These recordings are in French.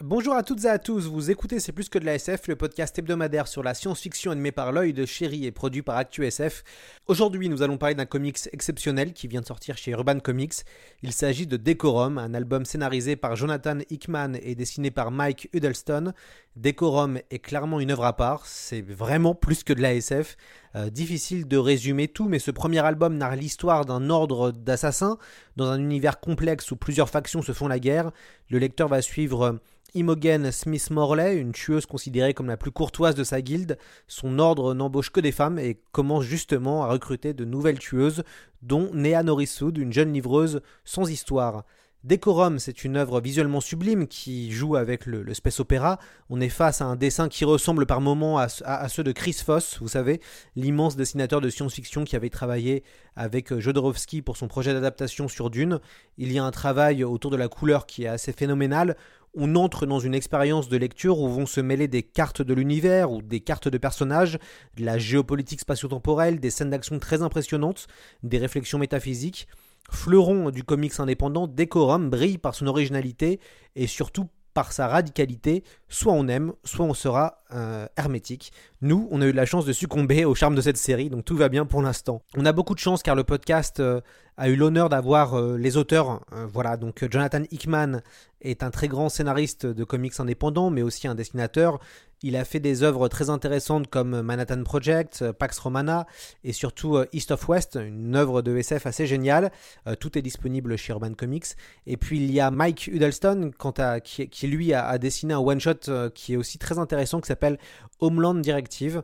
Bonjour à toutes et à tous, vous écoutez C'est plus que de la SF, le podcast hebdomadaire sur la science-fiction animé par l'œil de Chéri et produit par ActuSF. Aujourd'hui, nous allons parler d'un comics exceptionnel qui vient de sortir chez Urban Comics. Il s'agit de Decorum, un album scénarisé par Jonathan Hickman et dessiné par Mike Huddleston. Decorum est clairement une œuvre à part, c'est vraiment plus que de la SF. Difficile de résumer tout, mais ce premier album narre l'histoire d'un ordre d'assassins dans un univers complexe où plusieurs factions se font la guerre. Le lecteur va suivre Imogen Smith Morley, une tueuse considérée comme la plus courtoise de sa guilde. Son ordre n'embauche que des femmes et commence justement à recruter de nouvelles tueuses, dont Nea Norriswood, une jeune livreuse sans histoire. Decorum, c'est une œuvre visuellement sublime qui joue avec le space opéra. On est face à un dessin qui ressemble par moments à ceux de Chris Foss, vous savez, l'immense dessinateur de science-fiction qui avait travaillé avec Jodorowsky pour son projet d'adaptation sur Dune. Il y a un travail autour de la couleur qui est assez phénoménal. On entre dans une expérience de lecture où vont se mêler des cartes de l'univers ou des cartes de personnages, de la géopolitique spatio-temporelle, des scènes d'action très impressionnantes, des réflexions métaphysiques. Fleuron du comics indépendant, Decorum brille par son originalité et surtout par sa radicalité. Soit on aime, soit on sera hermétique. Nous, on a eu la chance de succomber au charme de cette série, donc tout va bien pour l'instant. On a beaucoup de chance car le podcast a eu l'honneur d'avoir les auteurs. Voilà, donc Jonathan Hickman est un très grand scénariste de comics indépendants, mais aussi un dessinateur. Il a fait des œuvres très intéressantes comme Manhattan Project, Pax Romana et surtout East of West, une œuvre de SF assez géniale. Tout est disponible chez Urban Comics. Et puis il y a Mike Huddleston qui lui a dessiné un one-shot qui est aussi très intéressant qui s'appelle Homeland Directive.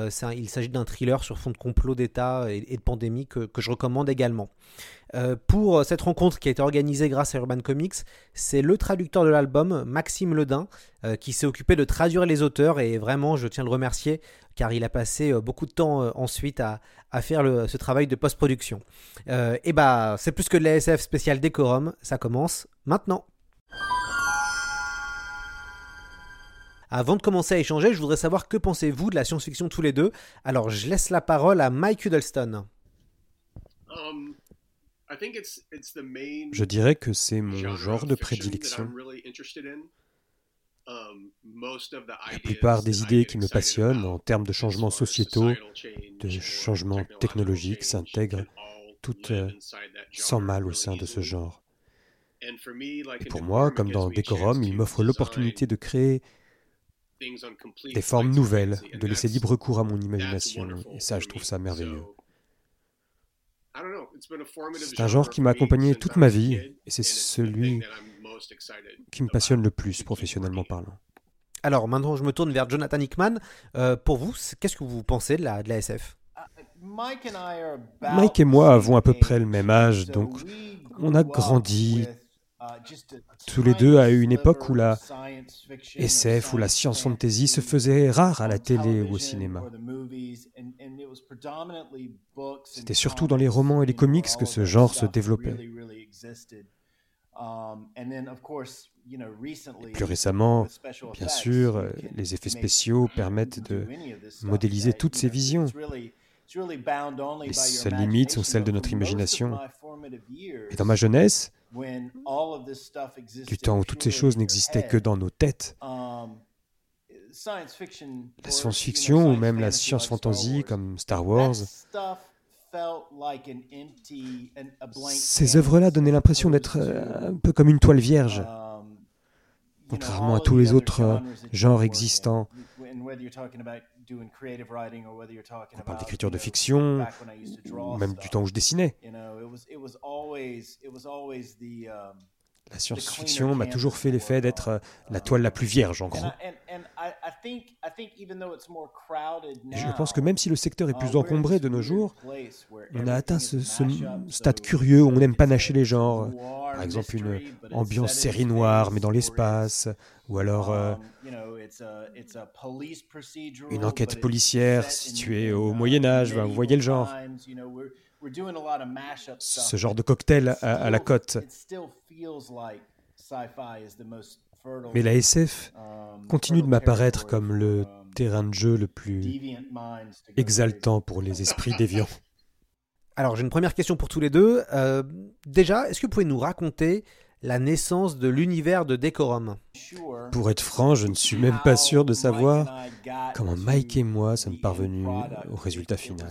Il s'agit d'un thriller sur fond de complot d'État et de pandémie que je recommande également. Pour cette rencontre qui a été organisée grâce à Urban Comics, c'est le traducteur de l'album, Maxime Ledin, qui s'est occupé de traduire les auteurs et vraiment je tiens à le remercier car il a passé beaucoup de temps ensuite à faire ce travail de post-production. Et c'est plus que de la SF spéciale Decorum, ça commence maintenant. Avant de commencer à échanger, je voudrais savoir que pensez-vous de la science-fiction tous les deux. Alors, je laisse la parole à Mike Huddleston. Je dirais que c'est mon genre de prédilection. La plupart des idées qui me passionnent en termes de changements sociétaux, de changements technologiques s'intègrent toutes sans mal au sein de ce genre. Et pour moi, comme dans Decorum, il m'offre l'opportunité de créer des formes nouvelles, de laisser libre cours à mon imagination. Et ça, je trouve ça merveilleux. C'est un genre qui m'a accompagné toute ma vie, et c'est celui qui me passionne le plus, professionnellement parlant. Alors, maintenant, je me tourne vers Jonathan Hickman. Pour vous, qu'est-ce que vous pensez de la SF ? Mike et moi avons à peu près le même âge, donc on a grandi tous les deux à une époque où la SF ou la science fantasy se faisait rare à la télé ou au cinéma. C'était surtout dans les romans et les comics que ce genre se développait. Et plus récemment, bien sûr, les effets spéciaux permettent de modéliser toutes ces visions. Les seules limites sont celles de notre imagination. Et dans ma jeunesse, du temps où toutes ces choses n'existaient que dans nos têtes, la science-fiction ou même la science-fantasy comme Star Wars, ces œuvres-là donnaient l'impression d'être un peu comme une toile vierge, contrairement à tous les autres genres existants. On parle d'écriture de fiction, ou même du temps où je dessinais. La science-fiction m'a toujours fait l'effet d'être la toile la plus vierge, en gros. Et je pense que même si le secteur est plus encombré de nos jours, on a atteint ce stade curieux où on aime panacher les genres. Par exemple, une ambiance série noire, mais dans l'espace, ou alors une enquête policière située au Moyen-Âge, vous voyez le genre. Ce genre de cocktail à la cote. Mais la SF continue de m'apparaître comme le terrain de jeu le plus exaltant pour les esprits déviants. Alors, j'ai une première question pour tous les deux. Déjà, est-ce que vous pouvez nous raconter la naissance de l'univers de Decorum. Pour être franc, je ne suis même pas sûr de savoir comment Mike et moi sommes parvenus au résultat final.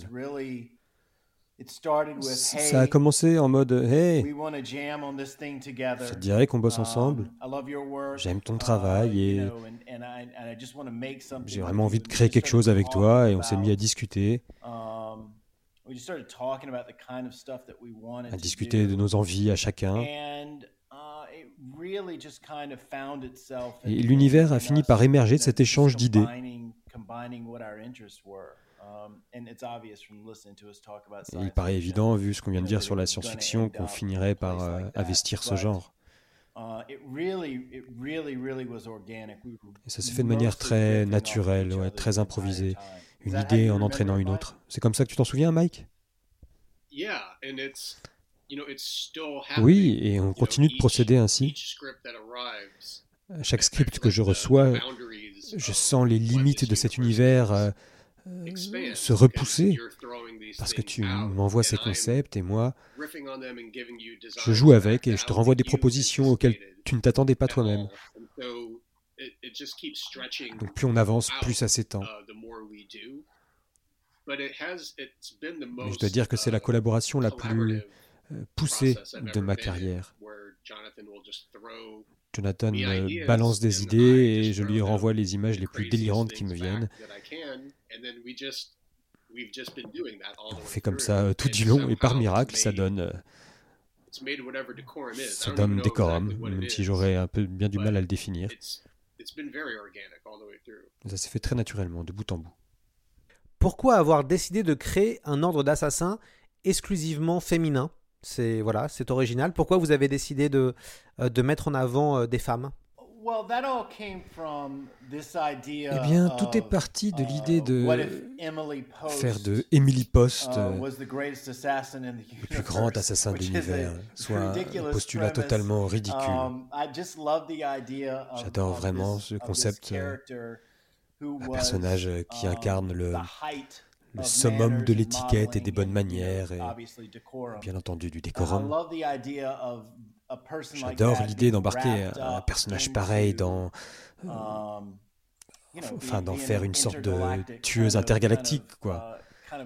Ça a commencé en mode « Hey, ça te dirait qu'on bosse ensemble? J'aime ton travail et j'ai vraiment envie de créer quelque chose avec toi. » Et on s'est mis à discuter de nos envies à chacun. Et l'univers a fini par émerger de cet échange d'idées. Et il paraît évident, vu ce qu'on vient de dire sur la science-fiction, qu'on finirait par investir ce genre. Et ça s'est fait de manière très naturelle, très improvisée. Une idée en entraînant une autre. C'est comme ça que tu t'en souviens, Mike? Oui, et on continue de procéder ainsi. À chaque script que je reçois, je sens les limites de cet univers se repousser, parce que tu m'envoies ces concepts et moi, je joue avec et je te renvoie des propositions auxquelles tu ne t'attendais pas toi-même. Donc plus on avance, plus ça s'étend. Mais je dois dire que c'est la collaboration la plus poussée de ma carrière. Jonathan me balance des idées et je lui renvoie les images les plus délirantes qui me viennent. On fait comme ça tout du long et par miracle, ça donne Decorum, même si j'aurais un peu bien du mal à le définir. Ça s'est fait très naturellement, de bout en bout. Pourquoi avoir décidé de créer un ordre d'assassins exclusivement féminin ? C'est original. Pourquoi vous avez décidé de mettre en avant des femmes ? Eh bien, tout est parti de l'idée de faire de Emily Post le plus grand assassin de l'univers, soit un postulat totalement ridicule. J'adore vraiment ce concept, un personnage qui incarne le summum de l'étiquette et des bonnes manières, et bien entendu du décorum. J'adore l'idée d'embarquer un personnage pareil d'en faire une sorte de tueuse intergalactique, quoi.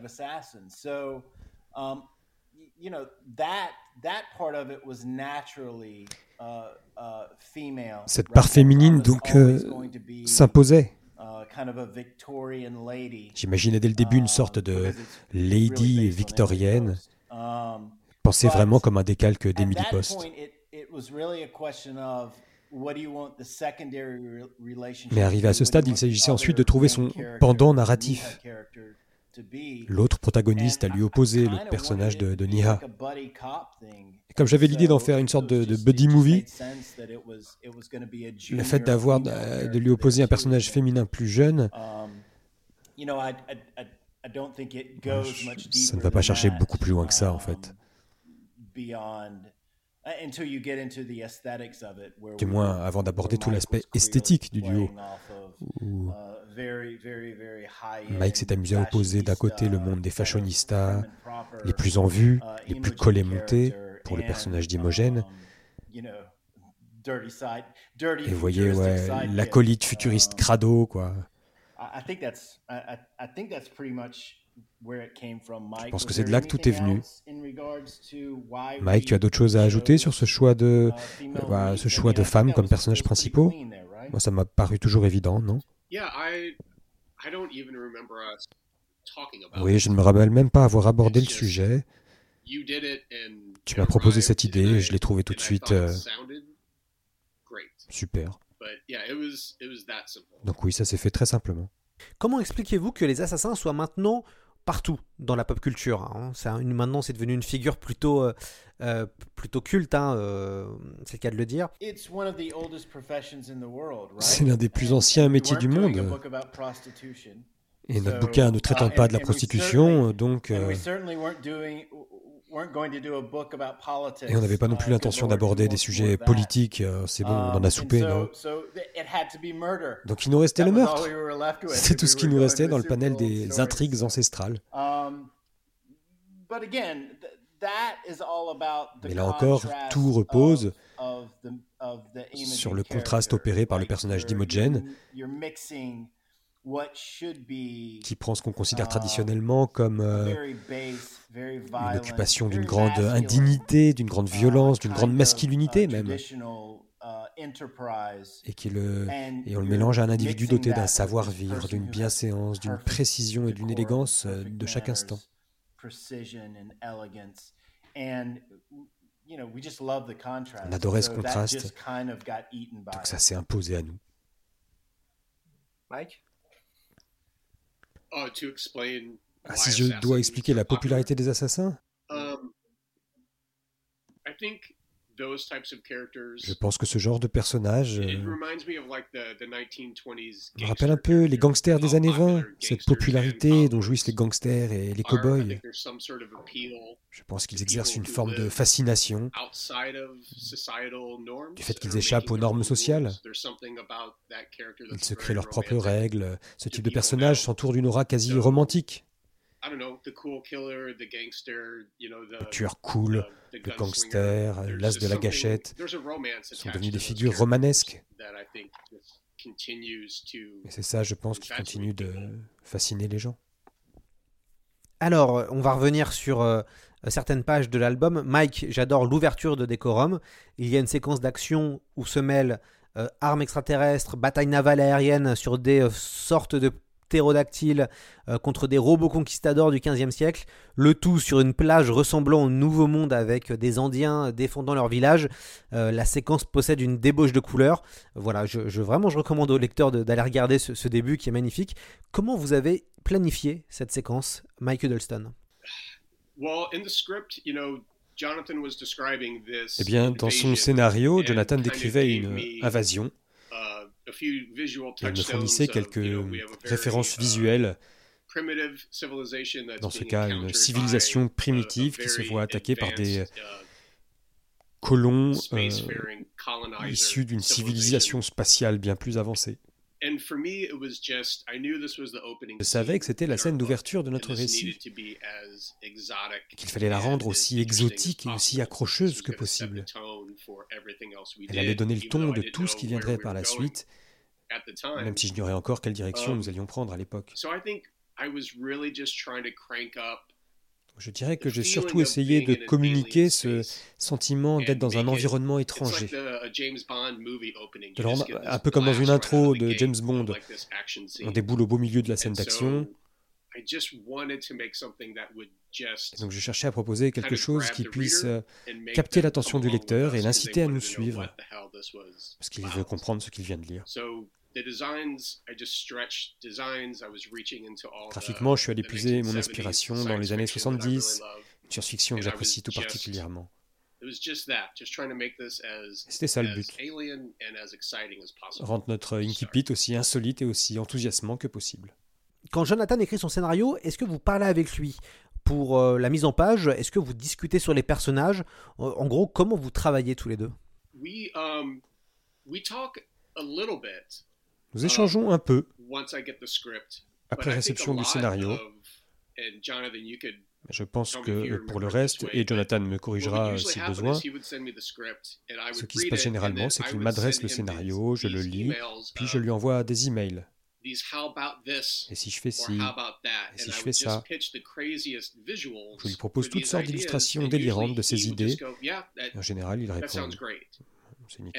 Cette part féminine, donc, s'imposait. J'imaginais dès le début une sorte de lady victorienne, pensée vraiment comme un décalque d'Emily Post. Mais arrivé à ce stade, il s'agissait ensuite de trouver son pendant narratif. L'autre protagoniste à lui opposer, le personnage de Niha. Et comme j'avais l'idée d'en faire une sorte de buddy movie, le fait de lui opposer un personnage féminin plus jeune, ça ne va pas chercher beaucoup plus loin que ça, en fait. Du moins, avant d'aborder tout l'aspect esthétique du duo, où Mike s'est amusé à opposer d'un côté le monde des fashionistas, les plus en vue, les plus collés montés, pour le personnage d'Imogen, et vous voyez, l'acolyte futuriste crado, quoi. Je pense que c'est de là que tout est venu. Mike, tu as d'autres choses à ajouter sur ce choix de femmes comme personnages principaux ? Moi, ça m'a paru toujours évident, non ? Oui, je ne me rappelle même pas avoir abordé le sujet. Tu m'as proposé cette idée et je l'ai trouvée tout de suite super. Donc oui, ça s'est fait très simplement. Comment expliquez-vous que les assassins soient maintenant partout dans la pop culture, hein? Maintenant, c'est devenu une figure plutôt culte, c'est le cas de le dire. C'est l'un des plus anciens métiers du monde. Et notre bouquin ne traitant pas de la prostitution, donc... Et on n'avait pas non plus l'intention d'aborder des sujets politiques. C'est bon, on en a soupé, non ? Donc il nous restait le meurtre. C'est tout ce qui nous restait dans le panel des intrigues ancestrales. Mais là encore, tout repose sur le contraste opéré par le personnage d'Imogen, qui prend ce qu'on considère traditionnellement comme une occupation d'une grande indignité, d'une grande violence, d'une grande masculinité même, et on le mélange à un individu doté d'un savoir-vivre, d'une bienséance, d'une précision et d'une élégance de chaque instant. On adorait ce contraste, donc ça s'est imposé à nous. Mike? Si je dois expliquer la popularité des assassins, je pense que ce genre de personnage me rappelle un peu les gangsters des années 20, cette popularité dont jouissent les gangsters et les cow-boys. Je pense qu'ils exercent une forme de fascination du fait qu'ils échappent aux normes sociales. Ils se créent leurs propres règles. Ce type de personnage s'entoure d'une aura quasi romantique. Le tueur cool, le gangster, l'as de la gâchette sont devenus des figures romanesques. Et c'est ça, je pense, qui continue de fasciner les gens. Alors, on va revenir sur certaines pages de l'album. Mike, j'adore l'ouverture de Décorum. Il y a une séquence d'action où se mêlent armes extraterrestres, batailles navales aériennes sur des sortes de ptérodactyles contre des robots conquistadors du XVe siècle, le tout sur une plage ressemblant au Nouveau Monde avec des Indiens défendant leur village. La séquence possède une débauche de couleurs. Voilà, je recommande aux lecteurs d'aller regarder ce début qui est magnifique. Comment vous avez planifié cette séquence, Mike Huddleston? Eh bien, dans son scénario, Jonathan décrivait une invasion. Et il me fournissait quelques références visuelles. Dans ce cas, une civilisation primitive qui se voit attaquée par des colons issus d'une civilisation spatiale bien plus avancée. Je savais que c'était la scène d'ouverture de notre récit, qu'il fallait la rendre aussi exotique et aussi accrocheuse que possible. Elle allait donner le ton de tout ce qui viendrait par la suite, même si j'ignorais encore quelle direction nous allions prendre à l'époque. Je dirais que j'ai surtout essayé de communiquer ce sentiment d'être dans un environnement étranger. Un peu comme dans une intro de James Bond. On déboule au beau milieu de la scène d'action. Et donc je cherchais à proposer quelque chose qui puisse capter l'attention du lecteur et l'inciter à nous suivre, parce qu'il veut comprendre ce qu'il vient de lire. Graphiquement, je suis allé puiser mon inspiration dans les années 70, une science-fiction que j'apprécie tout particulièrement. Et c'était ça le but. Rendre notre incipit aussi insolite et aussi enthousiasmant que possible. Quand Jonathan écrit son scénario, est-ce que vous parlez avec lui pour la mise en page? Est-ce que vous discutez sur les personnages? En gros, comment vous travaillez tous les deux? Nous échangeons un peu après réception du scénario. Je pense que pour le reste, et Jonathan me corrigera si besoin, ce qui se passe généralement, c'est qu'il m'adresse le scénario, je le lis, puis je lui envoie des emails. Et si je fais ci, et si je fais ça, je lui propose toutes sortes d'illustrations délirantes de ses idées, et en général, il répond « c'est nickel ».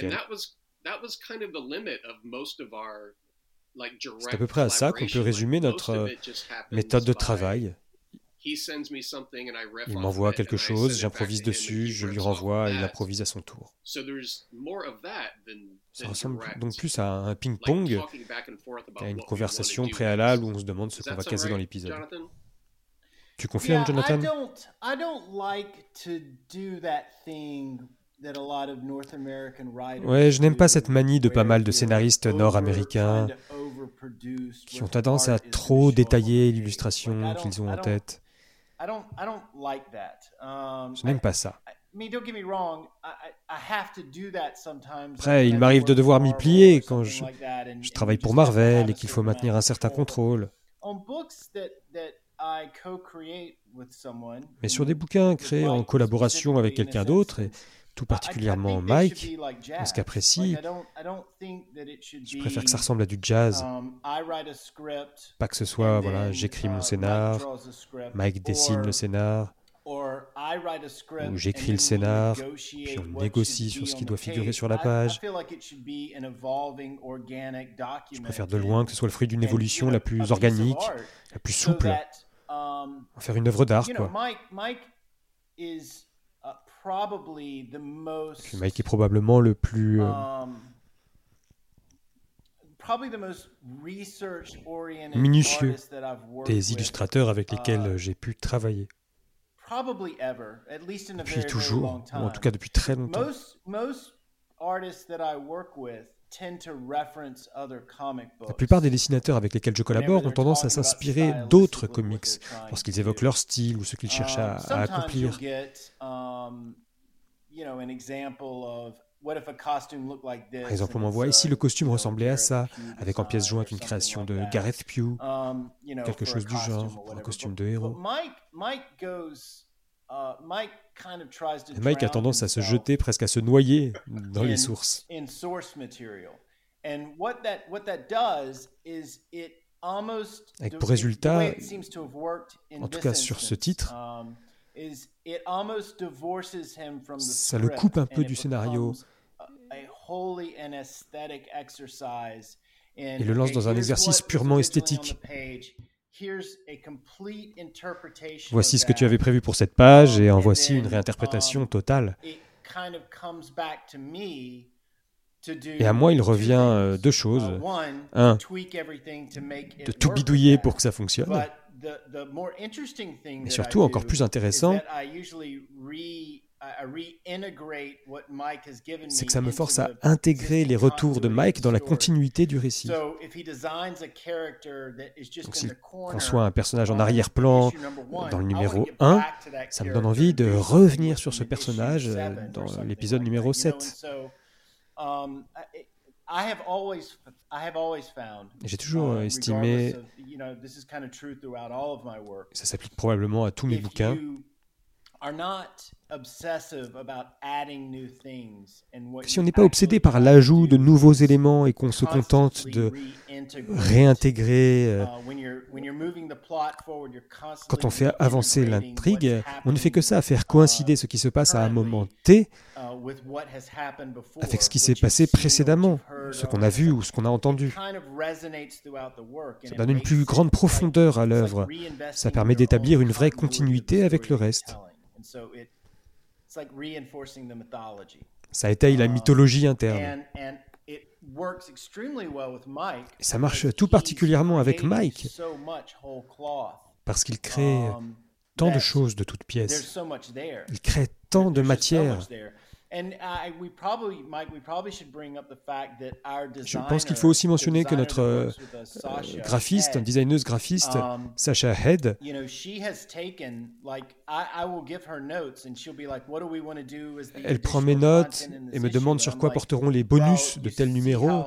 C'est à peu près à ça qu'on peut résumer notre méthode de travail. Il m'envoie quelque chose, j'improvise dessus, je lui renvoie et il improvise à son tour. Ça ressemble donc plus à un ping-pong qu'à une conversation préalable où on se demande ce qu'on va caser dans l'épisode. Tu confirmes, Jonathan? Ouais, je n'aime pas cette manie de pas mal de scénaristes nord-américains qui ont tendance à trop détailler l'illustration qu'ils ont en tête. Je n'aime pas ça. Après, il m'arrive de devoir m'y plier quand je travaille pour Marvel et qu'il faut maintenir un certain contrôle. Mais sur des bouquins créés en collaboration avec quelqu'un d'autre, et tout particulièrement Mike. Dans ce cas précis, je préfère que ça ressemble à du jazz. Pas que ce soit, voilà, j'écris mon scénar, Mike dessine le scénar, ou j'écris le scénar, puis on négocie sur ce qui doit figurer sur la page. Je préfère de loin que ce soit le fruit d'une évolution la plus organique, la plus souple. En faire une œuvre d'art, quoi. Puis Mike est probablement le plus minutieux des illustrateurs avec lesquels j'ai pu travailler. Depuis toujours, ou en tout cas depuis très longtemps. La plupart des dessinateurs avec lesquels je collabore ont tendance à s'inspirer d'autres comics lorsqu'ils évoquent leur style ou ce qu'ils cherchent à accomplir. Par exemple, on m'envoie ici le costume ressemblait à ça, avec en pièce jointe une création de Gareth Pugh, quelque chose du genre, pour un costume de héros. Mike a tendance à se jeter, presque à se noyer dans les sources. Avec pour résultat, en tout cas sur ce titre, ça le coupe un peu du scénario et le lance dans un exercice purement esthétique. Voici ce que tu avais prévu pour cette page et en voici une réinterprétation totale. Et à moi, il revient deux choses. Un, de tout bidouiller pour que ça fonctionne. Mais surtout, encore plus intéressant, c'est que ça me force à intégrer les retours de Mike dans la continuité du récit. Donc s'il conçoit un personnage en arrière-plan dans le numéro 1, ça me donne envie de revenir sur ce personnage dans l'épisode numéro 7. J'ai toujours estimé, ça s'applique probablement à tous mes bouquins, que si on n'est pas obsédé par l'ajout de nouveaux éléments et qu'on se contente de réintégrer, quand on fait avancer l'intrigue, on ne fait que ça, faire coïncider ce qui se passe à un moment T avec ce qui s'est passé précédemment, ce qu'on a vu ou ce qu'on a entendu. Ça donne une plus grande profondeur à l'œuvre. Ça permet d'établir une vraie continuité avec le reste. Ça étaye la mythologie interne. Et ça marche tout particulièrement avec Mike, parce qu'il crée tant de choses de toutes pièces. Il crée tant de matière. Je pense qu'il faut aussi mentionner que notre graphiste, designeuse graphiste, Sasha Head, elle prend mes notes et me demande sur quoi porteront les bonus de tel numéro.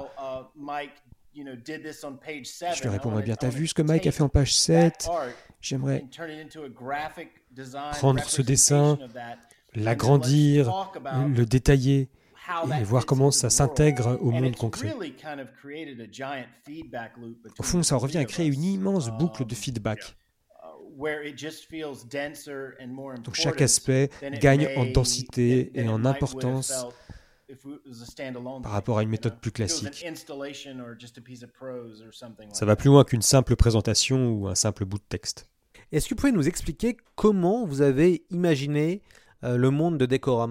Je lui réponds, bien, t'as vu ce que Mike a fait en page 7 ? J'aimerais prendre ce dessin, l'agrandir, le détailler et voir comment ça s'intègre au monde concret. Au fond, ça revient à créer une immense boucle de feedback. Donc chaque aspect gagne en densité et en importance par rapport à une méthode plus classique. Ça va plus loin qu'une simple présentation ou un simple bout de texte. Est-ce que vous pouvez nous expliquer comment vous avez imaginé le monde de Decorum ?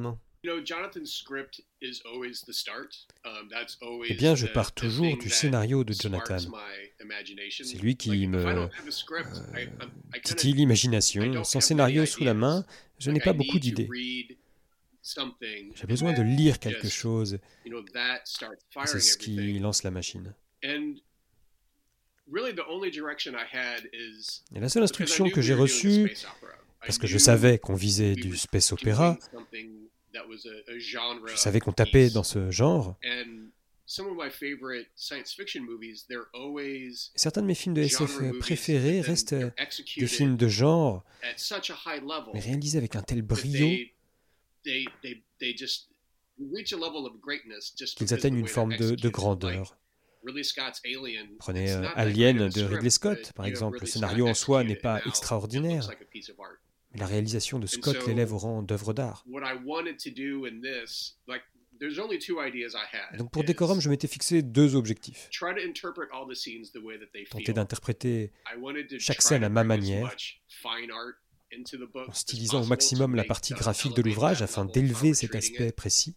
Eh bien, je pars toujours du scénario de Jonathan. C'est lui qui me titille l'imagination. Sans scénario sous la main, je n'ai pas beaucoup d'idées. J'ai besoin de lire quelque chose. C'est ce qui lance la machine. Et la seule instruction que j'ai reçue, parce que je savais qu'on visait du space opéra, je savais qu'on tapait dans ce genre. Et certains de mes films de SF préférés restent des films de genre, mais réalisés avec un tel brio. qu'ils atteignent une forme de grandeur. Prenez Alien de Ridley Scott, par exemple. Le scénario en soi n'est pas extraordinaire, mais la réalisation de Scott l'élève au rang d'œuvre d'art. Donc pour Decorum, je m'étais fixé 2 objectifs. Tenter d'interpréter chaque scène à ma manière, en stylisant au maximum la partie graphique de l'ouvrage afin d'élever cet aspect précis.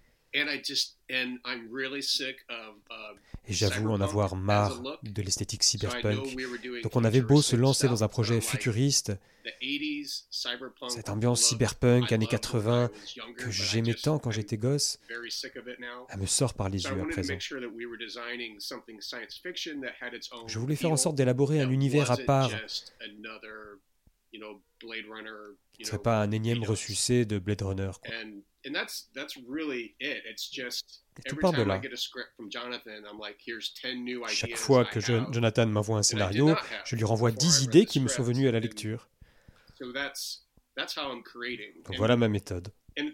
Et j'avoue en avoir marre de l'esthétique cyberpunk. Donc on avait beau se lancer dans un projet futuriste, cette ambiance cyberpunk années 80 que j'aimais tant quand j'étais gosse, elle me sort par les yeux à présent. Je voulais faire en sorte d'élaborer un univers à part, qui ne serait pas un énième ressucé de Blade Runner, quoi. Et tout part de là. Chaque fois que Jonathan m'envoie un scénario, je lui renvoie 10 idées qui me sont venues à la lecture. Donc voilà ma méthode. Et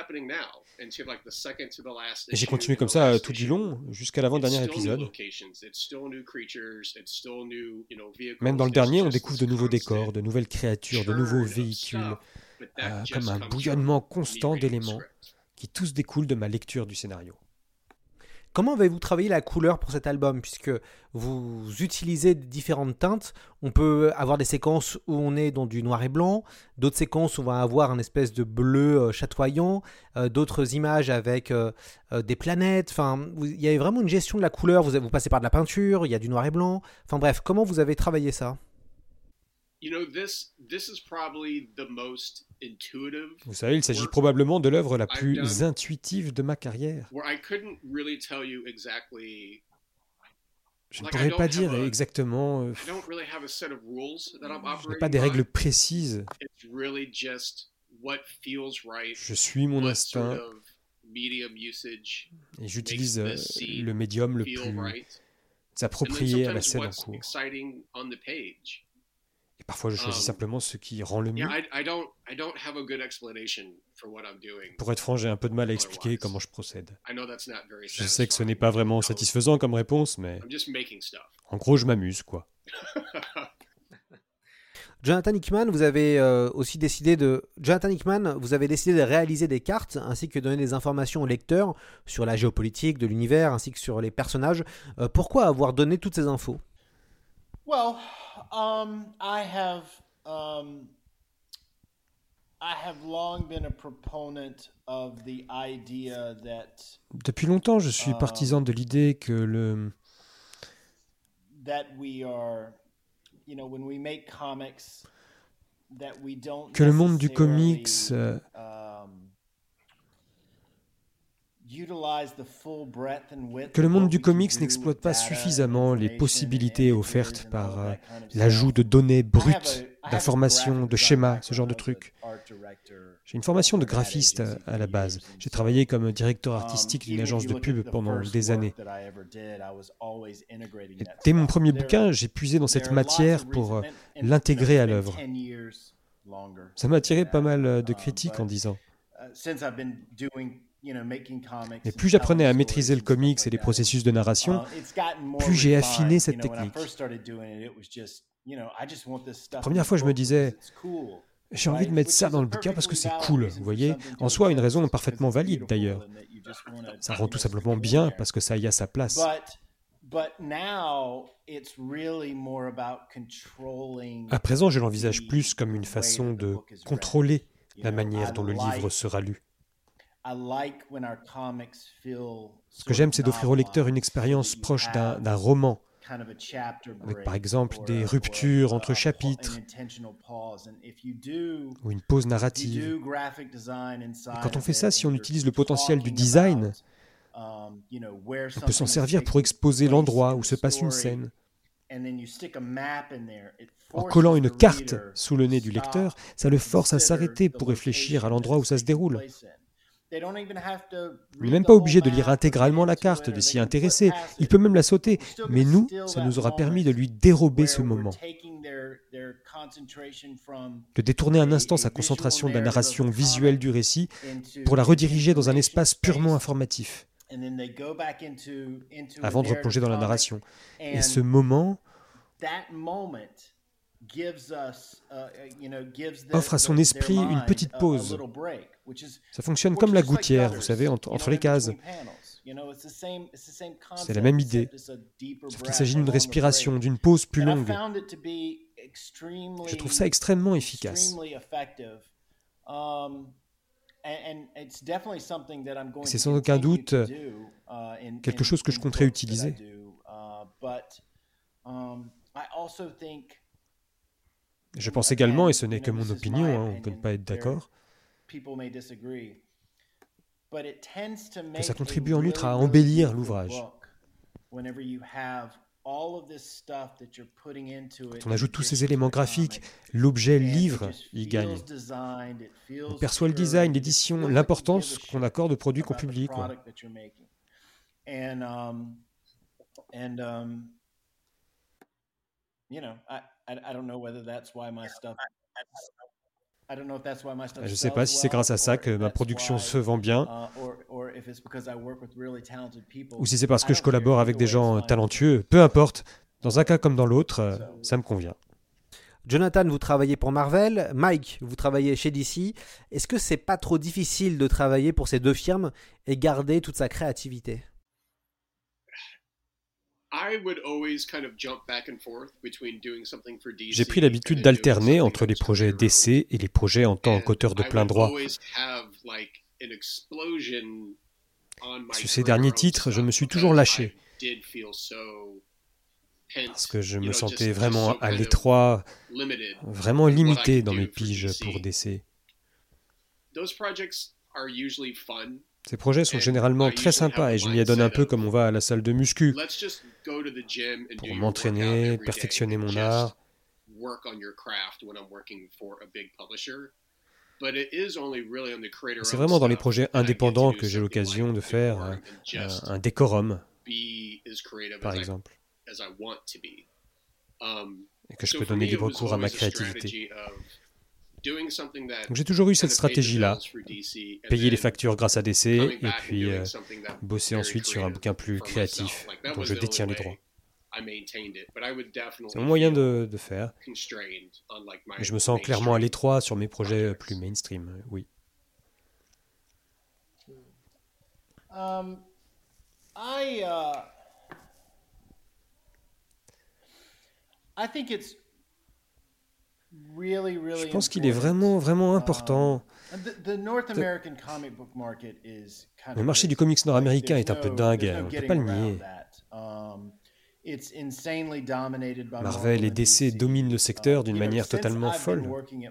j'ai continué comme ça tout du long, jusqu'à l'avant-dernier épisode. Même dans le dernier, on découvre de nouveaux décors, de nouvelles créatures, de nouveaux véhicules, comme un bouillonnement constant d'éléments qui tous découlent de ma lecture du scénario. Comment avez-vous travaillé la couleur pour cet album? Puisque vous utilisez différentes teintes, on peut avoir des séquences où on est dans du noir et blanc, d'autres séquences où on va avoir un espèce de bleu chatoyant, d'autres images avec des planètes. Enfin, il y avait vraiment une gestion de la couleur, vous passez par de la peinture, il y a du noir et blanc. Enfin bref, comment vous avez travaillé ça? Vous savez, il s'agit probablement de l'œuvre la plus intuitive de ma carrière. Je ne pourrais pas dire exactement. Je n'ai pas des règles précises. Je suis mon instinct et j'utilise le médium le plus approprié à la scène en cours. Et parfois, je choisis simplement ce qui rend le mieux. Pour être franc, j'ai un peu de mal à expliquer comment je procède. Je sais que ce n'est pas vraiment satisfaisant comme réponse, mais en gros, je m'amuse, quoi. Jonathan Hickman, vous avez décidé de réaliser des cartes ainsi que donner des informations aux lecteurs sur la géopolitique de l'univers ainsi que sur les personnages. Pourquoi avoir donné toutes ces infos? I have long been a proponent of the idea that Depuis longtemps, je suis partisan de l'idée que le monde du comics n'exploite pas suffisamment les possibilités offertes par l'ajout de données brutes, d'informations, de schémas, ce genre de trucs. J'ai une formation de graphiste à la base. J'ai travaillé comme directeur artistique d'une agence de pub pendant des années. Et dès mon premier bouquin, j'ai puisé dans cette matière pour l'intégrer à l'œuvre. Ça m'a attiré pas mal de critiques en disant. Mais plus j'apprenais à maîtriser le comics et les processus de narration, plus j'ai affiné cette technique. La première fois, je me disais, j'ai envie de mettre ça dans le bouquin parce que c'est cool, vous voyez. En soi, une raison parfaitement valide d'ailleurs. Ça rend tout simplement bien parce que ça y a sa place. À présent, je l'envisage plus comme une façon de contrôler la manière dont le livre sera lu. Ce que j'aime, c'est d'offrir au lecteur une expérience proche d'un roman, avec par exemple des ruptures entre chapitres ou une pause narrative. Et quand on fait ça, si on utilise le potentiel du design, on peut s'en servir pour exposer l'endroit où se passe une scène. En collant une carte sous le nez du lecteur, ça le force à s'arrêter pour réfléchir à l'endroit où ça se déroule. On n'est même pas obligé de lire intégralement la carte, de s'y intéresser. Il peut même la sauter. Mais nous, ça nous aura permis de lui dérober ce moment. de détourner un instant sa concentration de la narration visuelle du récit pour la rediriger dans un espace purement informatif, avant de replonger dans la narration. Et ce moment offre à son esprit une petite pause. Ça fonctionne comme la gouttière, vous savez, entre les cases. C'est la même idée, sauf qu'il s'agit d'une respiration, d'une pause plus longue. Je trouve ça extrêmement efficace. C'est sans aucun doute quelque chose que je compterais utiliser. Je pense également, et ce n'est que mon opinion, on ne peut pas être d'accord, que ça contribue en outre à embellir l'ouvrage. Quand on ajoute tous ces éléments graphiques, l'objet livre y gagne. On perçoit le design, l'édition, l'importance qu'on accorde aux produits qu'on publie, quoi. Je ne sais pas si c'est grâce à ça que ma production se vend bien, ou si c'est parce que je collabore avec des gens talentueux. Peu importe, dans un cas comme dans l'autre, ça me convient. Jonathan, vous travaillez pour Marvel. Mike, vous travaillez chez DC. Est-ce que c'est pas trop difficile de travailler pour ces deux firmes et garder toute sa créativité ? J'ai pris l'habitude d'alterner entre les projets d'essai et les projets en tant qu'auteur de plein droit. Sur ces derniers titres, je me suis toujours lâché, parce que je me sentais vraiment à l'étroit, vraiment limité dans mes piges pour DC. Ces projets sont généralement très sympas et je m'y adonne un peu comme on va à la salle de muscu, pour m'entraîner, perfectionner mon art. C'est vraiment dans les projets indépendants que j'ai l'occasion de faire un décorum, par exemple, et que je peux donner libre cours à ma créativité. Donc j'ai toujours eu cette stratégie-là, payer les factures grâce à DC et puis bosser ensuite sur un bouquin plus créatif dont je détiens les droits. C'est mon moyen de faire. Et je me sens clairement à l'étroit sur mes projets plus mainstream, oui. Je pense qu'il est vraiment, vraiment important. Le marché du comics nord-américain est un peu dingue, on ne peut pas le nier. Marvel et DC dominent le secteur d'une manière totalement folle.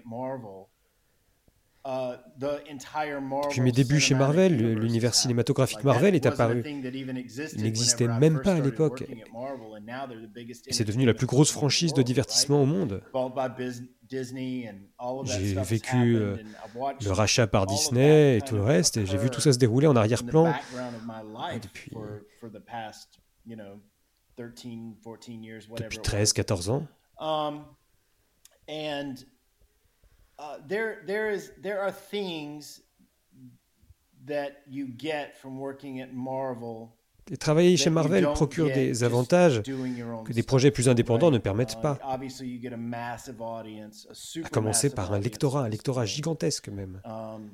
Depuis mes débuts chez Marvel, l'univers cinématographique Marvel est apparu. Il n'existait même pas à l'époque. Et c'est devenu la plus grosse franchise de divertissement au monde. J'ai vécu le rachat par Disney et tout le reste, et j'ai vu tout ça se dérouler en arrière-plan depuis 13-14 ans. There are things that you get from working at Marvel. Et travailler chez Marvel procure des avantages que des projets plus indépendants ne permettent pas. À commencer par un lectorat gigantesque même. On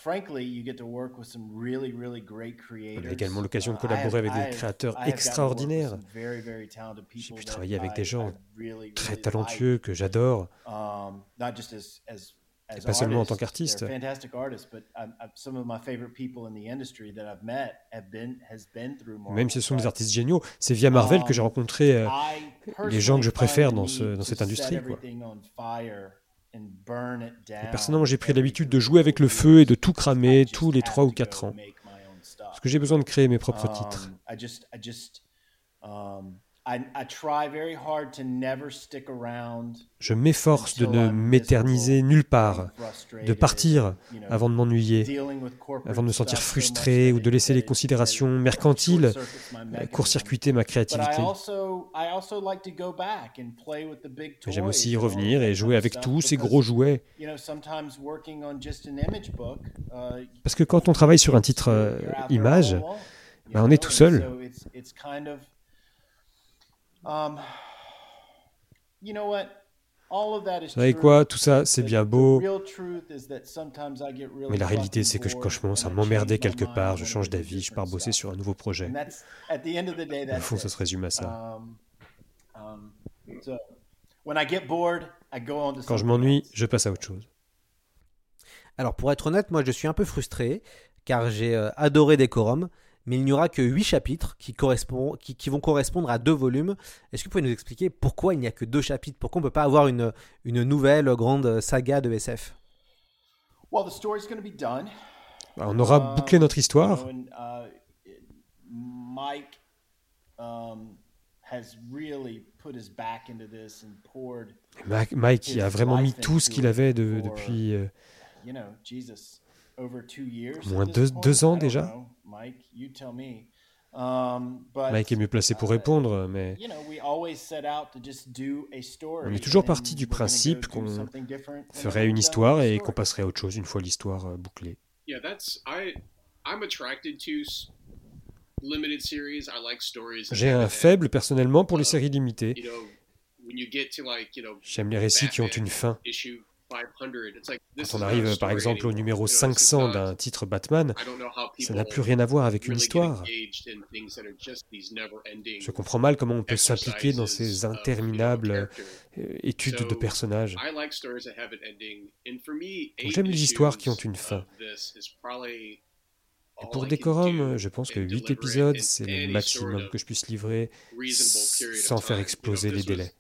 a également l'occasion de collaborer avec des créateurs extraordinaires. J'ai pu travailler avec des gens très talentueux que j'adore. Et pas seulement en tant qu'artiste. Même si ce sont des artistes géniaux, c'est via Marvel que j'ai rencontré les gens que je préfère dans cette industrie, quoi. Et personnellement, j'ai pris l'habitude de jouer avec le feu et de tout cramer tous les 3 ou 4 ans. Parce que j'ai besoin de créer mes propres titres. Je m'efforce de ne m'éterniser nulle part, de partir avant de m'ennuyer, avant de me sentir frustré ou de laisser les considérations mercantiles court-circuiter ma créativité. Mais j'aime aussi y revenir et jouer avec tous ces gros jouets. Parce que quand on travaille sur un titre image, on est tout seul. Vous savez quoi, tout ça, c'est bien beau, mais la réalité, c'est que quand je commence à m'emmerder quelque part, je change d'avis, je pars bosser sur un nouveau projet. Au fond, ça se résume à ça. Quand je m'ennuie, je passe à autre chose. Alors pour être honnête, moi je suis un peu frustré, car j'ai adoré Decorum, mais il n'y aura que 8 chapitres qui vont correspondre à 2 volumes. Est-ce que vous pouvez nous expliquer pourquoi il n'y a que 2 chapitres? Pourquoi on ne peut pas avoir une nouvelle grande saga de SF? On aura bouclé notre histoire. Mike a vraiment mis tout ce qu'il avait depuis au moins 2 ans déjà. Mike est mieux placé pour répondre, mais on est toujours parti du principe qu'on ferait une histoire et qu'on passerait à autre chose une fois l'histoire bouclée. J'ai un faible personnellement pour les séries limitées. J'aime les récits qui ont une fin. Quand on arrive par exemple au numéro 500 d'un titre Batman, ça n'a plus rien à voir avec une histoire. Je comprends mal comment on peut s'impliquer dans ces interminables études de personnages. Donc, j'aime les histoires qui ont une fin. Et pour Decorum, je pense que 8 épisodes, c'est le maximum que je puisse livrer sans faire exploser les délais.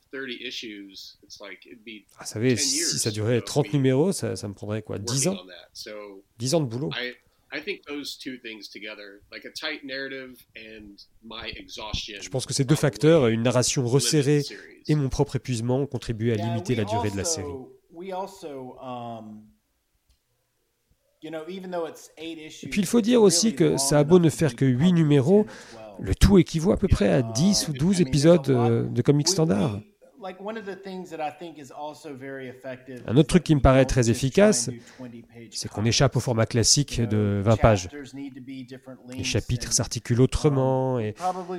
Vous savez, si ça durait 30 numéros, ça me prendrait quoi, 10 ans 10 ans de boulot. Je pense que ces 2 facteurs, une narration resserrée et mon propre épuisement, ont contribué à limiter la durée de la série. Et puis il faut dire aussi que ça a beau ne faire que 8 numéros, le tout équivaut à peu près à 10 ou 12 épisodes de comics standard. Un autre truc qui me paraît très efficace, c'est qu'on échappe au format classique de 20 pages. Les chapitres s'articulent autrement et...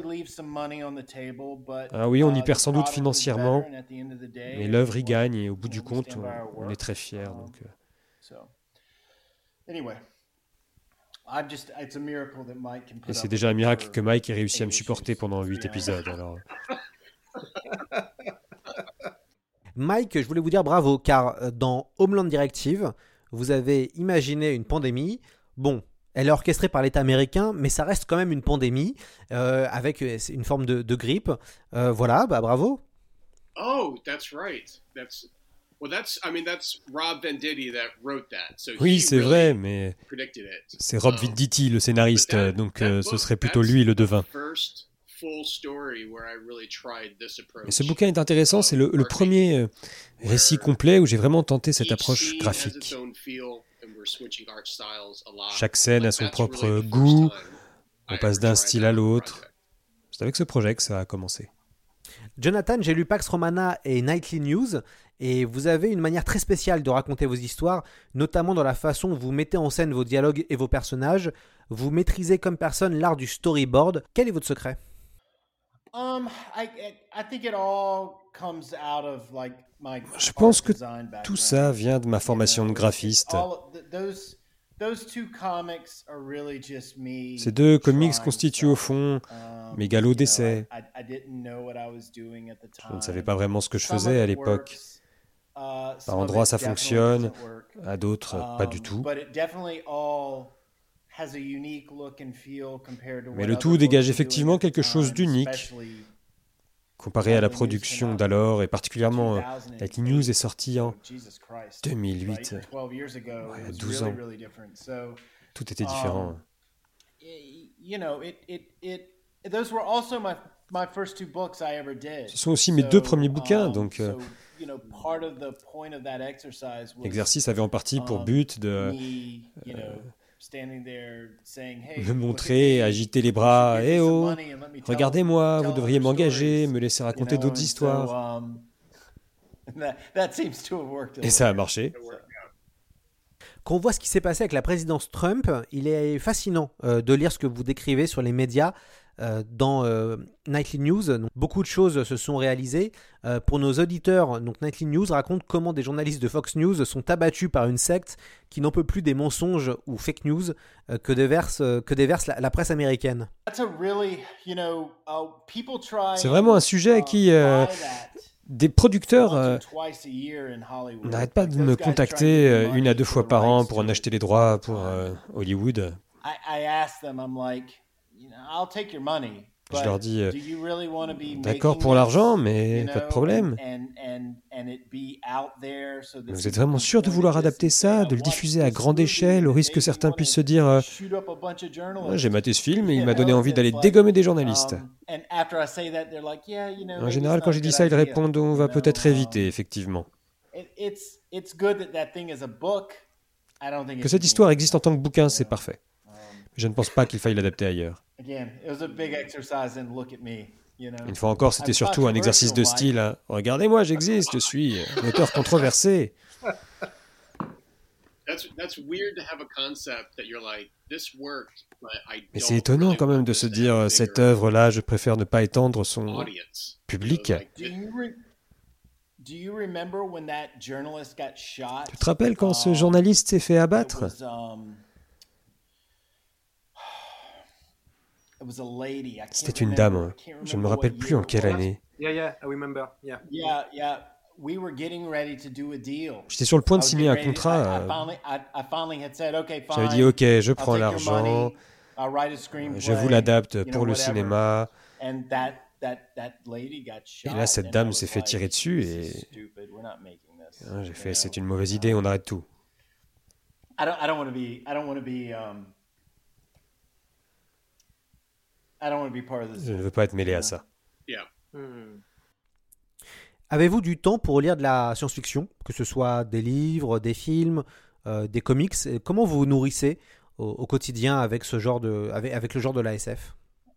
Ah oui, on y perd sans doute financièrement, mais l'œuvre y gagne et au bout du compte, on est très fiers. Donc... Et c'est déjà un miracle que Mike ait réussi à me supporter pendant 8 épisodes. Alors... Mike, je voulais vous dire bravo, car dans Homeland Directive, vous avez imaginé une pandémie. Bon, elle est orchestrée par l'État américain, mais ça reste quand même une pandémie, avec une forme de grippe. Voilà, bravo. Oh, that's right. That's Rob Venditti that wrote that. So oui, c'est vrai, mais c'est Rob Venditti, le scénariste, donc ce serait plutôt lui le devin. Et ce bouquin est intéressant, c'est le premier récit complet où j'ai vraiment tenté cette approche graphique. Chaque scène a son propre goût, on passe d'un style à l'autre. C'est avec ce projet que ça a commencé. Jonathan, j'ai lu Pax Romana et Nightly News, et vous avez une manière très spéciale de raconter vos histoires, notamment dans la façon où vous mettez en scène vos dialogues et vos personnages. Vous maîtrisez comme personne l'art du storyboard. Quel est votre secret? Je pense que tout ça vient de ma formation de graphiste. Ces 2 comics constituent au fond mes galops d'essai. Je ne savais pas vraiment ce que je faisais à l'époque. Par endroits ça fonctionne, à d'autres pas du tout. Mais le tout dégage effectivement quelque chose d'unique comparé à la production d'alors, et particulièrement Nightly News est sorti en 2008, il y a 12 ans. Tout était différent. Ce sont aussi mes 2 premiers bouquins, donc l'exercice avait en partie pour but de Me montrer, agiter les bras. Eh oh, regardez-moi, vous devriez m'engager, me laisser raconter d'autres histoires. Et ça a marché. Quand on voit ce qui s'est passé avec la présidence Trump, il est fascinant de lire ce que vous décrivez sur les médias dans Nightly News. Donc, beaucoup de choses se sont réalisées. Pour nos auditeurs, donc Nightly News raconte comment des journalistes de Fox News sont abattus par une secte qui n'en peut plus des mensonges ou fake news que déverse la presse américaine. C'est vraiment un sujet qui... Des producteurs n'arrêtent pas de me contacter 1 à 2 fois par an pour en acheter les droits pour Hollywood. Je leur dis, d'accord pour l'argent, mais pas de problème. Vous êtes vraiment sûr de vouloir adapter ça, de le diffuser à grande échelle, au risque que certains puissent se dire j'ai maté ce film et il m'a donné envie d'aller dégommer des journalistes. En général, quand j'ai dit ça, ils répondent on va peut-être éviter, effectivement. Que cette histoire existe en tant que bouquin, c'est parfait. Je ne pense pas qu'il faille l'adapter ailleurs. Une fois encore, c'était surtout un exercice de style. Hein. Regardez-moi, j'existe, je suis un auteur controversé. Mais c'est étonnant quand même de se dire cette œuvre-là, je préfère ne pas étendre son public. Tu te rappelles quand ce journaliste s'est fait abattre ? C'était une dame, je ne me rappelle plus en quelle année. J'étais sur le point de signer un contrat. J'avais dit ok, je prends l'argent, je vous l'adapte pour le cinéma. Et là, cette dame s'est fait tirer dessus et j'ai fait c'est une mauvaise idée, on arrête tout. Je ne veux pas être mêlé à ça. Avez-vous du temps pour lire de la science-fiction, que ce soit des livres, des films, des comics? Comment vous vous nourrissez au quotidien avec le genre de la SF?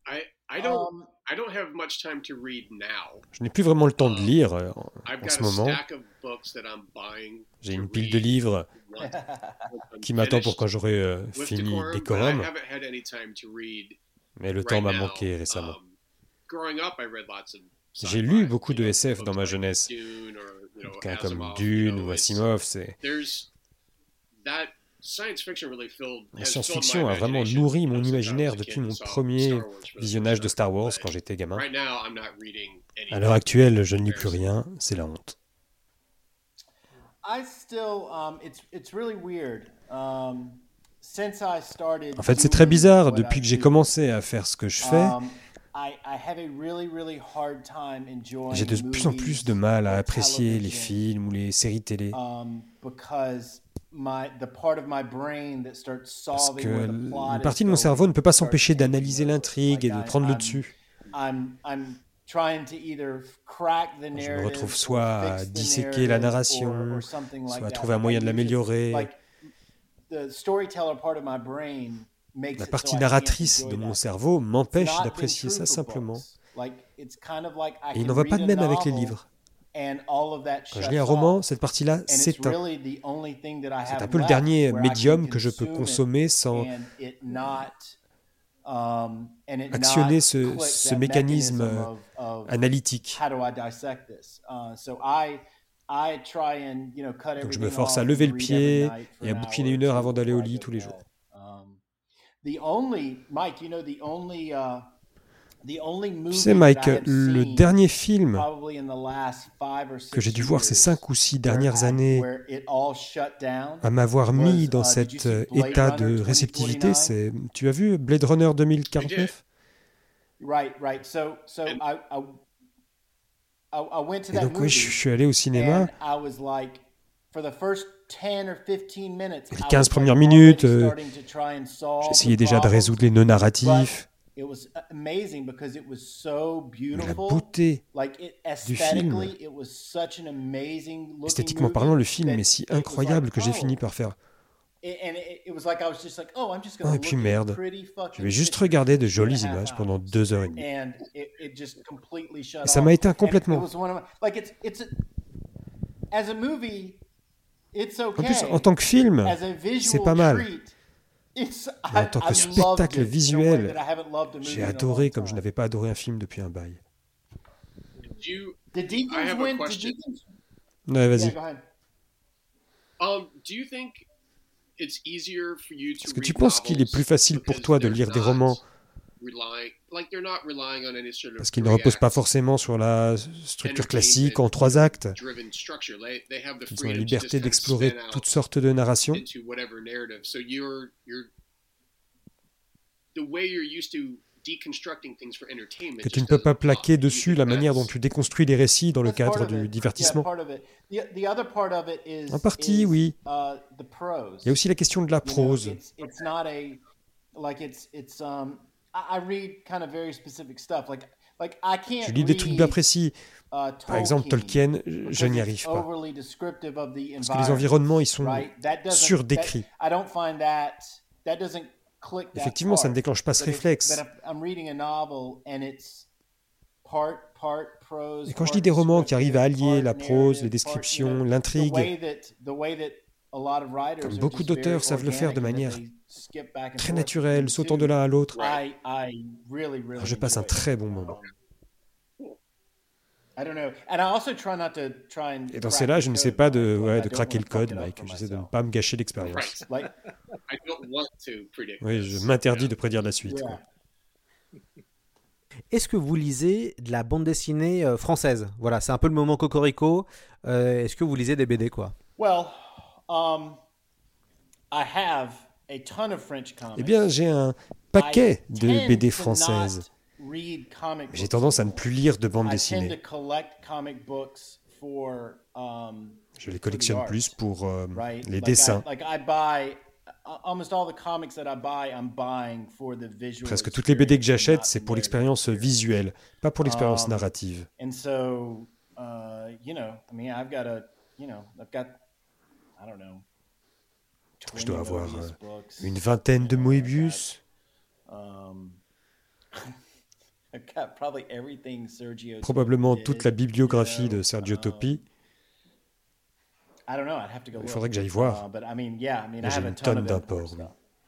Je n'ai plus vraiment le temps de lire en ce moment. J'ai une pile de livres qui m'attend pour quand j'aurai fini Decorum. Mais le temps m'a manqué récemment. J'ai lu beaucoup de SF dans ma jeunesse. Des bouquins comme Dune ou Asimov, La science-fiction a vraiment nourri mon imaginaire depuis mon premier visionnage de Star Wars quand j'étais gamin. À l'heure actuelle, je ne lis plus rien, c'est la honte. En fait, c'est très bizarre. Depuis que j'ai commencé à faire ce que je fais, j'ai de plus en plus de mal à apprécier les films ou les séries télé. Parce que une partie de mon cerveau ne peut pas s'empêcher d'analyser l'intrigue et de prendre le dessus. Je me retrouve soit à disséquer la narration, soit à trouver un moyen de l'améliorer. La partie narratrice de mon cerveau m'empêche d'apprécier ça simplement. Et il n'en va pas de même avec les livres. Quand je lis un roman, cette partie-là s'éteint. C'est un peu le dernier médium que je peux consommer sans actionner ce mécanisme analytique. Donc je me force à lever le pied et à bouquiner 1 heure avant d'aller au lit tous les jours. Tu sais, Mike, le dernier film que j'ai dû voir ces 5 ou 6 dernières années à m'avoir mis dans cet état de réceptivité, c'est... Tu as vu Blade Runner 2049 ? Et donc oui, je suis allé au cinéma. Les 15 premières minutes, j'essayais déjà de résoudre les nœuds narratifs. Mais la beauté du film, esthétiquement parlant, le film est si incroyable que j'ai fini par faire Et puis merde, je vais juste regarder de jolies images pendant 2 heures et demie. Et ça m'a éteint complètement. En plus, en tant que film, c'est pas mal. Mais en tant que spectacle visuel, j'ai adoré comme je n'avais pas adoré un film depuis un bail. Ouais, vas-y. Est-ce que tu penses qu'il est plus facile pour toi de lire des romans parce qu'ils ne reposent pas forcément sur la structure classique en 3 actes? Ils ont la liberté d'explorer toutes sortes de narrations. Que tu ne peux pas plaquer dessus la manière dont tu déconstruis les récits dans le cadre du divertissement. En partie, oui. Il y a aussi la question de la prose. Je lis des trucs bien précis. Par exemple, Tolkien, je n'y arrive pas. Parce que les environnements, ils sont surdécrits. Effectivement, ça ne déclenche pas ce réflexe. Et quand je lis des romans qui arrivent à allier la prose, les descriptions, l'intrigue, comme beaucoup d'auteurs savent le faire de manière très naturelle, sautant de l'un à l'autre, alors je passe un très bon moment. Et dans ces là, je ne sais pas de craquer le code, Mike. J'essaie de ne pas me gâcher l'expérience. Oui, je m'interdis de prédire la suite. Quoi. Est-ce que vous lisez de la bande dessinée française? Voilà, c'est un peu le moment cocorico. Est-ce que vous lisez des BD, quoi? Eh bien, j'ai un paquet de BD françaises. J'ai tendance à ne plus lire de bande dessinée. Je les collectionne plus pour les dessins. Presque toutes les BD que j'achète, c'est pour l'expérience visuelle, pas pour l'expérience narrative. Je dois avoir une vingtaine de Moebius. Probablement toute la bibliographie de Sergio Topi. Il faudrait que j'aille voir. Mais j'ai une tonne d'imports.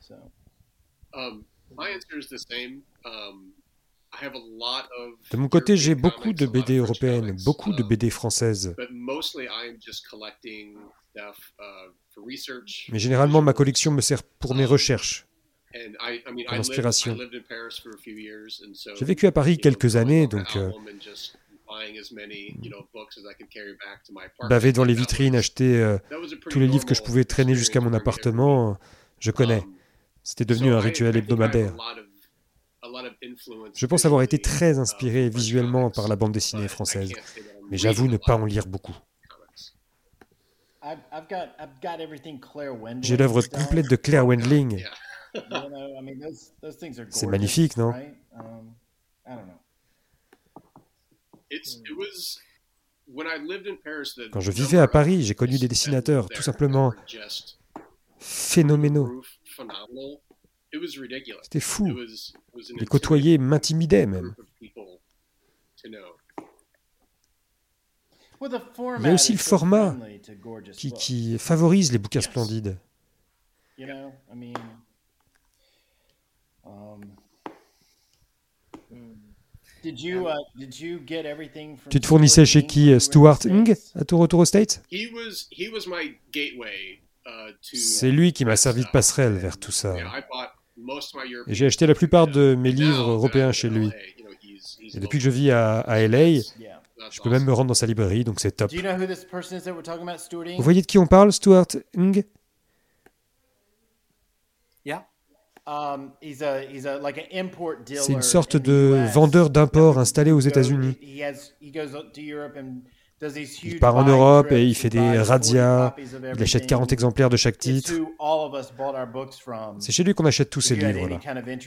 De mon côté, j'ai beaucoup de BD européennes, beaucoup de BD françaises. Mais généralement, ma collection me sert pour mes recherches, pour l'inspiration. J'ai vécu à Paris quelques années, donc baver dans les vitrines, acheter tous les livres que je pouvais traîner jusqu'à mon appartement, je connais. C'était devenu un rituel hebdomadaire. Je pense avoir été très inspiré visuellement par la bande dessinée française, mais j'avoue ne pas en lire beaucoup. J'ai l'œuvre complète de Claire Wendling. C'est magnifique, non? Quand je vivais à Paris, j'ai connu des dessinateurs tout simplement phénoménaux. C'était fou. Les côtoyer m'intimidait même. Il y a aussi le format qui favorise les bouquins splendides. Tu te fournissais chez qui, Stuart Ng, à ton retour aux States? C'est lui qui m'a servi de passerelle vers tout ça. Et j'ai acheté la plupart de mes livres européens chez lui. Et depuis que je vis à LA, je peux même me rendre dans sa librairie, donc c'est top. Vous voyez de qui on parle, Stuart Ng? C'est une sorte de vendeur d'import installé aux États-Unis. Il part en Europe et il fait des razzias, il achète 40 exemplaires de chaque titre. C'est chez lui qu'on achète tous ces livres-là.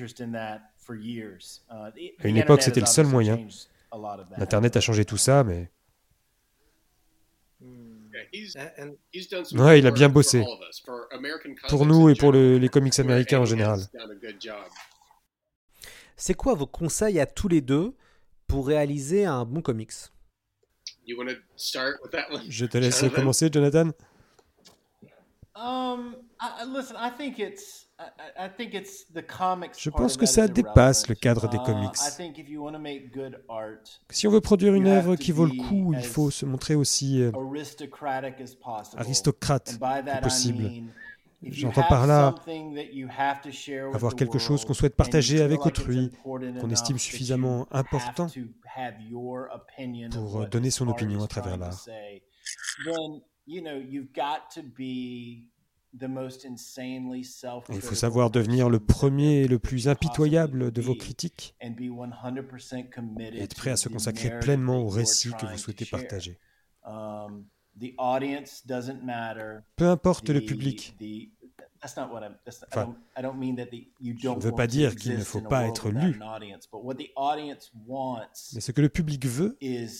À une époque, c'était le seul moyen. L'Internet a changé tout ça, mais... Ouais, il a bien bossé. Pour nous et pour les comics américains en général. C'est quoi vos conseils à tous les deux pour réaliser un bon comics? Je te laisse commencer, Jonathan. Je pense que ça dépasse le cadre des comics. Si on veut produire une œuvre qui vaut le coup, il faut se montrer aussi aristocrate que possible. J'entends par là avoir quelque chose qu'on souhaite partager avec autrui, qu'on estime suffisamment important pour donner son opinion à travers l'art. Il faut savoir devenir le premier et le plus impitoyable de vos critiques et être prêt à se consacrer pleinement au récit que vous souhaitez partager. Peu importe le public. Enfin, je ne veux pas dire qu'il ne faut pas être lu, mais ce que le public veut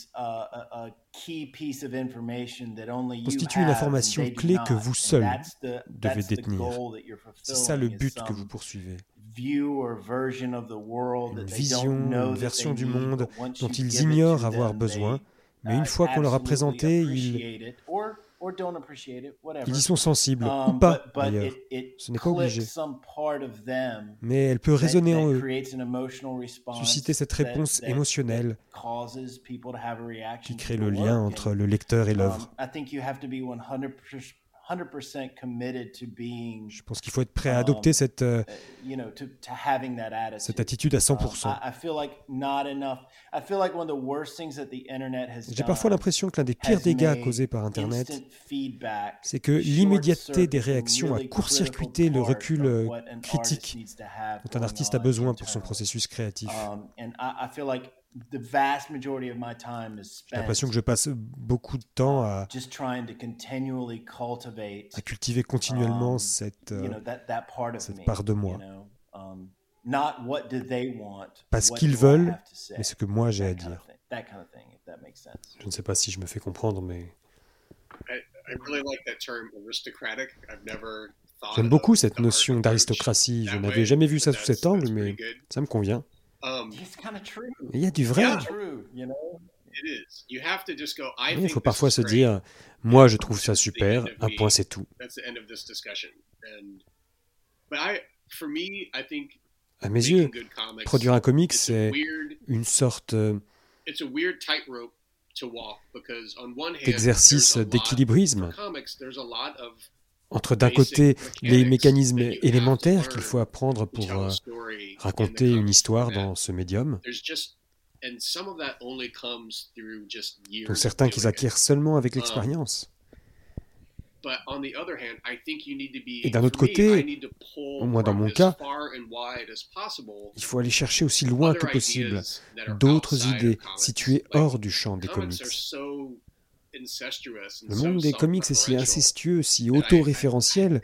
constitue une information clé que vous seul devez détenir. C'est ça le but que vous poursuivez. Une vision, une version du monde dont ils ignorent avoir besoin, mais une fois qu'on leur a présenté, ils y sont sensibles, ou pas d'ailleurs. Ce n'est pas obligé. Mais elle peut résonner en eux, susciter cette réponse émotionnelle qui crée le lien entre le lecteur et l'œuvre. Je pense qu'il faut être prêt à adopter cette attitude à 100%. J'ai parfois l'impression que l'un des pires dégâts causés par Internet, c'est que l'immédiateté des réactions a court-circuité le recul critique dont un artiste a besoin pour son processus créatif. J'ai l'impression que je passe beaucoup de temps à cultiver continuellement cette part de moi. Pas ce qu'ils veulent, mais ce que moi j'ai à dire. Je ne sais pas si je me fais comprendre, mais... J'aime beaucoup cette notion d'aristocratie. Je n'avais jamais vu ça sous cet angle, mais ça me convient. Il y a du vrai. Il faut parfois se dire, moi je trouve ça super, un point c'est tout. À mes yeux, produire un comic, c'est une sorte d'exercice d'équilibrisme. Entre d'un côté les mécanismes élémentaires qu'il faut apprendre pour raconter une histoire dans ce médium, dont certains qu'ils acquièrent seulement avec l'expérience. Et d'un autre côté, au moins dans mon cas, il faut aller chercher aussi loin que possible d'autres idées situées hors du champ des comics. Le monde des comics est si incestueux, si auto-référentiel.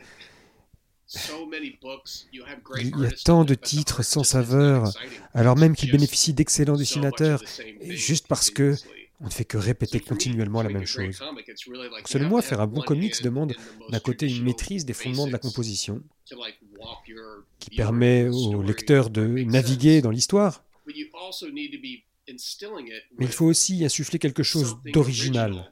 Il y a tant de titres sans saveur, alors même qu'ils bénéficient d'excellents dessinateurs, juste parce que on ne fait que répéter continuellement la même chose. Donc, selon moi, faire un bon comics demande d'un côté une maîtrise des fondements de la composition, qui permet au lecteur de naviguer dans l'histoire, mais il faut aussi insuffler quelque chose d'original,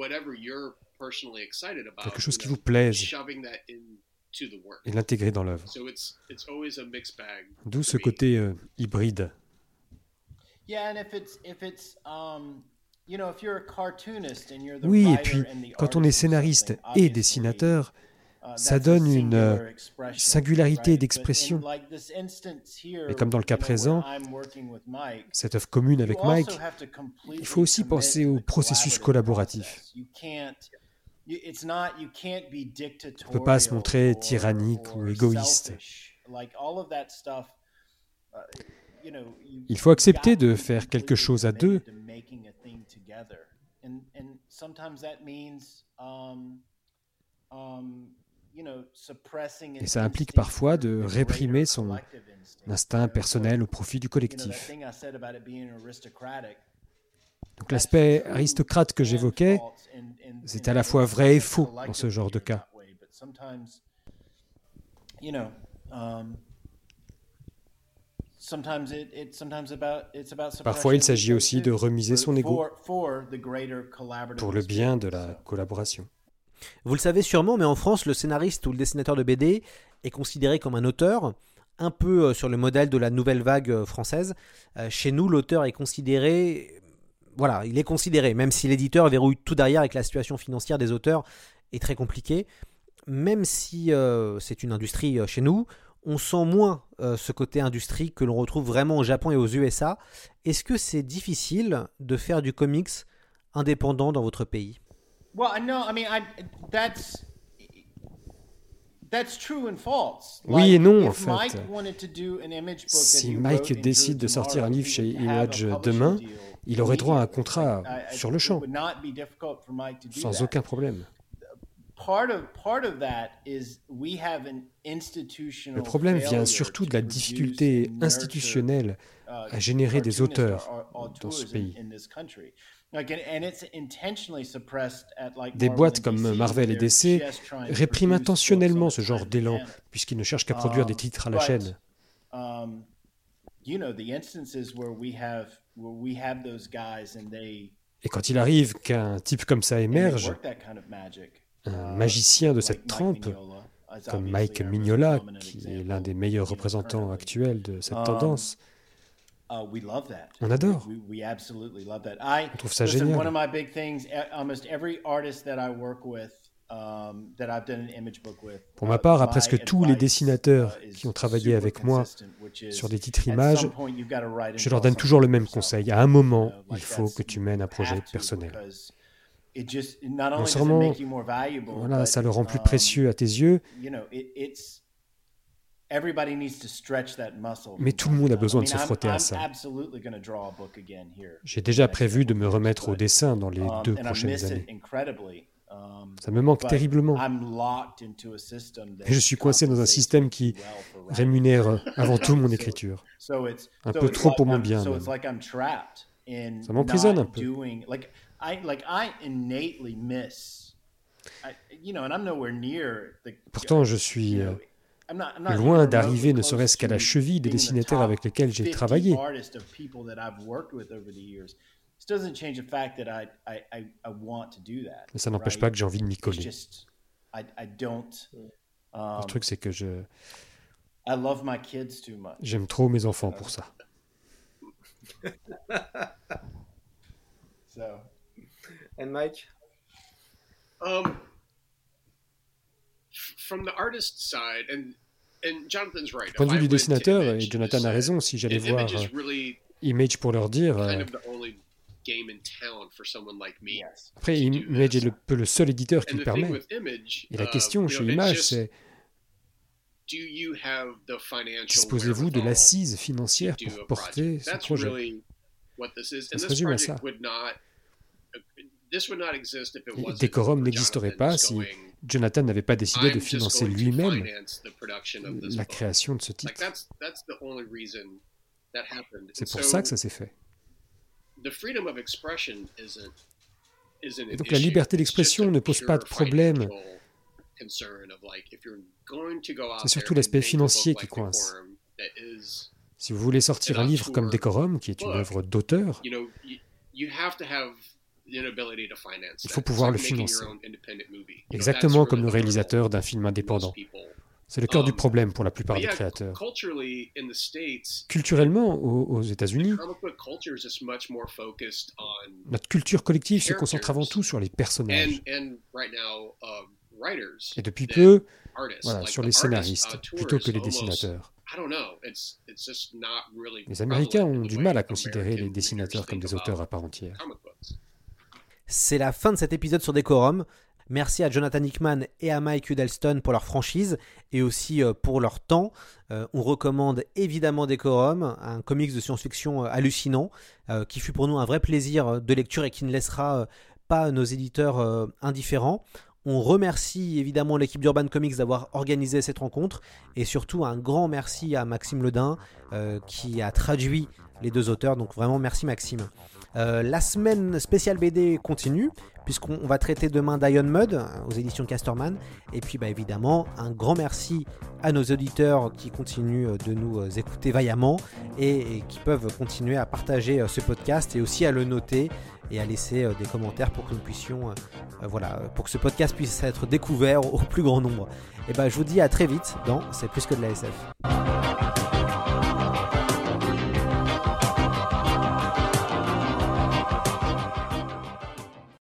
quelque chose qui vous plaise, et l'intégrer dans l'œuvre. D'où ce côté hybride. Oui, et puis quand on est scénariste et dessinateur, ça donne une singularité d'expression. Et comme dans le cas présent, cette œuvre commune avec Mike, il faut aussi penser au processus collaboratif. On ne peut pas se montrer tyrannique ou égoïste. Il faut accepter de faire quelque chose à deux. Et ça implique parfois de réprimer son instinct personnel au profit du collectif. Donc l'aspect aristocrate que j'évoquais, C'est à la fois vrai et faux dans ce genre de cas. Parfois, il s'agit aussi de remiser son ego pour le bien de la collaboration. Vous le savez sûrement, mais en France, le scénariste ou le dessinateur de BD est considéré comme un auteur, un peu sur le modèle de la nouvelle vague française. Chez nous, l'auteur est considéré... Voilà, il est considéré, même si l'éditeur verrouille tout derrière et que la situation financière des auteurs est très compliquée. Même si c'est une industrie chez nous, on sent moins ce côté industrie que l'on retrouve vraiment au Japon et aux USA. Est-ce que c'est difficile de faire du comics indépendant dans votre pays ? Oui et non, en fait. Si Mike décide de sortir un livre chez Image demain, il aurait droit à un contrat sur le champ, sans aucun problème. Le problème vient surtout de la difficulté institutionnelle à générer des auteurs dans ce pays. Des boîtes comme Marvel et DC répriment intentionnellement ce genre d'élan, puisqu'ils ne cherchent qu'à produire des titres à la chaîne. Et quand il arrive qu'un type comme ça émerge, un magicien de cette trempe, comme Mike Mignola, qui est l'un des meilleurs représentants actuels de cette tendance, on adore. On trouve ça génial. Pour ma part, à presque tous les dessinateurs qui ont travaillé avec moi sur des titres images, je leur donne toujours le même conseil. À un moment, il faut que tu mènes un projet personnel. Non seulement voilà, ça le rend plus précieux à tes yeux, mais tout le monde a besoin de se frotter à ça. J'ai déjà prévu de me remettre au dessin dans les 2 prochaines années. Ça me manque terriblement. Et je suis coincé dans un système qui rémunère avant tout mon écriture. Un peu trop pour mon bien, même. Ça m'emprisonne un peu. Pourtant, je suis loin d'arriver ne serait-ce qu'à la cheville des dessinateurs avec lesquels j'ai travaillé. Mais ça n'empêche pas que j'ai envie de m'y coller. Le truc, c'est que j'aime trop mes enfants pour ça. And Mike? From the artist side, and Jonathan's right. Du point de vue du dessinateur, et Jonathan a raison, si j'allais voir Image pour leur dire... Après, Image est le seul éditeur qui le permet. Et la question chez Image, c'est... Disposez-vous de l'assise financière pour porter ce projet? Ça se résume à ça. Décorum n'existerait pas si Jonathan n'avait pas décidé de financer lui-même la création de ce titre. C'est pour ça que ça s'est fait. Et donc la liberté d'expression ne pose pas de problème. C'est surtout l'aspect financier qui coince. Si vous voulez sortir un livre comme Décorum, qui est une œuvre d'auteur, il faut pouvoir le financer. Exactement comme le réalisateur d'un film indépendant. C'est le cœur du problème pour la plupart des créateurs. Culturellement, aux États-Unis, notre culture collective se concentre avant tout sur les personnages. Et depuis peu, voilà, sur les scénaristes, plutôt que les dessinateurs. Les Américains ont du mal à considérer les dessinateurs comme des auteurs à part entière. C'est la fin de cet épisode sur Décorum. Merci à Jonathan Hickman et à Mike Huddleston pour leur franchise et aussi pour leur temps. On recommande évidemment Décorum, un comics de science-fiction hallucinant qui fut pour nous un vrai plaisir de lecture et qui ne laissera pas nos éditeurs indifférents. On remercie évidemment l'équipe d'Urban Comics d'avoir organisé cette rencontre et surtout un grand merci à Maxime Ledin qui a traduit les 2 auteurs. Donc vraiment merci Maxime. La semaine spéciale BD continue, puisqu'on va traiter demain d'Iron Mud aux éditions Casterman. Et puis évidemment, un grand merci à nos auditeurs qui continuent de nous écouter vaillamment et qui peuvent continuer à partager ce podcast et aussi à le noter et à laisser des commentaires pour que nous puissions, pour que ce podcast puisse être découvert au plus grand nombre. Et je vous dis à très vite dans C'est plus que de la SF.